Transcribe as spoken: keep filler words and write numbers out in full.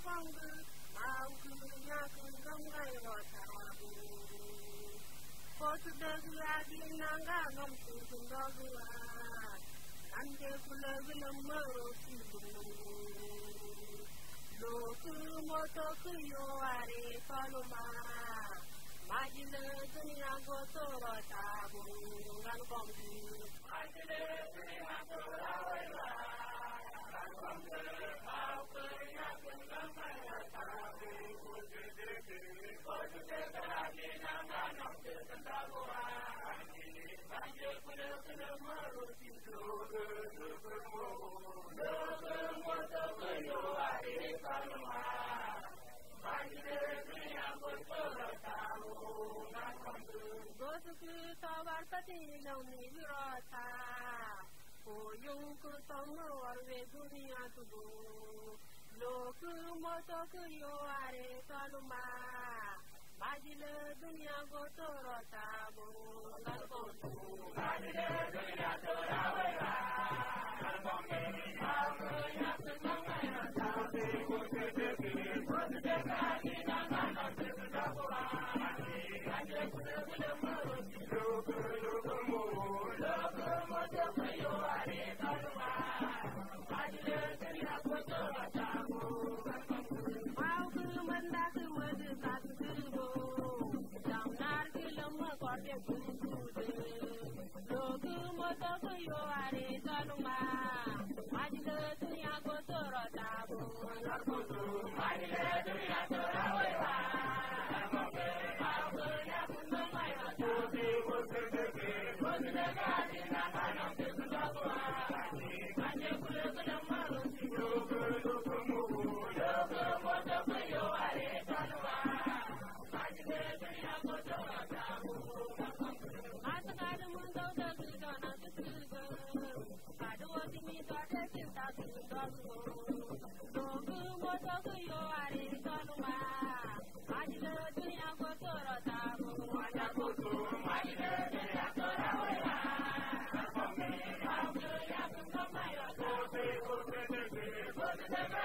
Kongu, Mauku, Naku, Ngai, Rotabu. Kotu Dagu, Adi, Nanga, Nomsu, Dogu, Ande, Kula, Villamaro, Sibu. Loku, Moto, Kuyo, Are, Paloma. Majile, Dunia, Goto, Rotabu, Ngan Kongu. Majile, Dunia, Goto, Rotabu. Oyunku tomo arve dunia tubu, loku moto kuyo are kaluma, majile dunia gotoro tabu, nalbotu, majile dunia tora wera, nalbonge, auke yaku nangaya tabu, kutedeki, kutedeki nangana tekutabuwa, anje kutebule muruti, loku loku mu, loku moto kuyo are kaluma, majile dunia gotoro tabu, auke mandaku madu katubu, jamnar kilama korte kutude, loku moto kuyo are kaluma, majile dunia gotoro tabu, nalbotu, majile dunia tora wera, nalbonge, auke yaku nangaya tabu, kutedeki, kutedeki nangana tekutabuwa, anje kutebule muruti, loku loku mu, loku moto kuyo are kaluma, majile dunia gotoro tabu, matakadu mundo dagu dana tutugo, kadu otimi kade cinta tutugo, loku moto kuyo are kaluma, majile dunia gotoro tabu, majakutu, majile dunia tora wera, nalbonge, auke yaku nangaya tabu, kutedeki, kutedeki